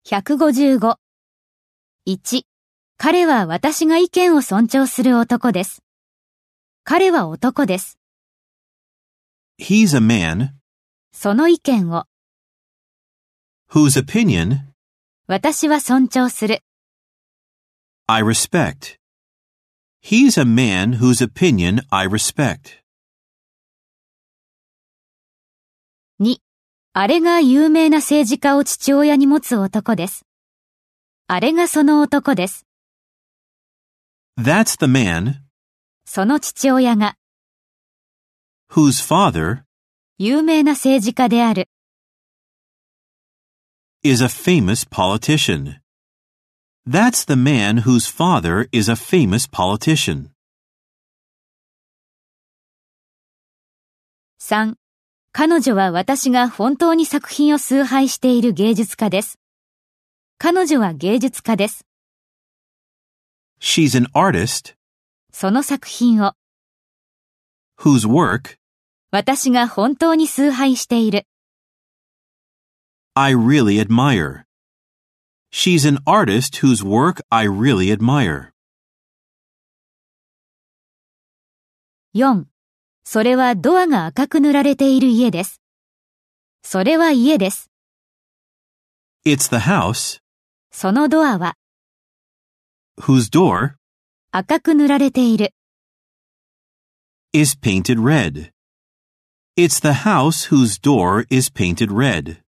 155。1、彼は私が意見を尊重する男です。彼は男です。 He's a man その意見を whose opinion 私は尊重する。 I respect. He's a man whose opinion I respect. 2、あれが有名な政治家を父親に持つ男です。あれがその男です。 That's the man その父親が whose father 有名な政治家である。 is a famous politician. That's the man whose father is a famous politician. 3、彼女は私が本当に作品を崇拝している芸術家です。彼女は芸術家です。 She's an artist その作品を whose work 私が本当に崇拝している。 I really admire. She's an artist whose work I really admire. 4、それはドアが赤く塗られている家です。それは家です。 It's the house そのドアは whose door 赤く塗られている。 is painted red. It's the house whose door is painted red.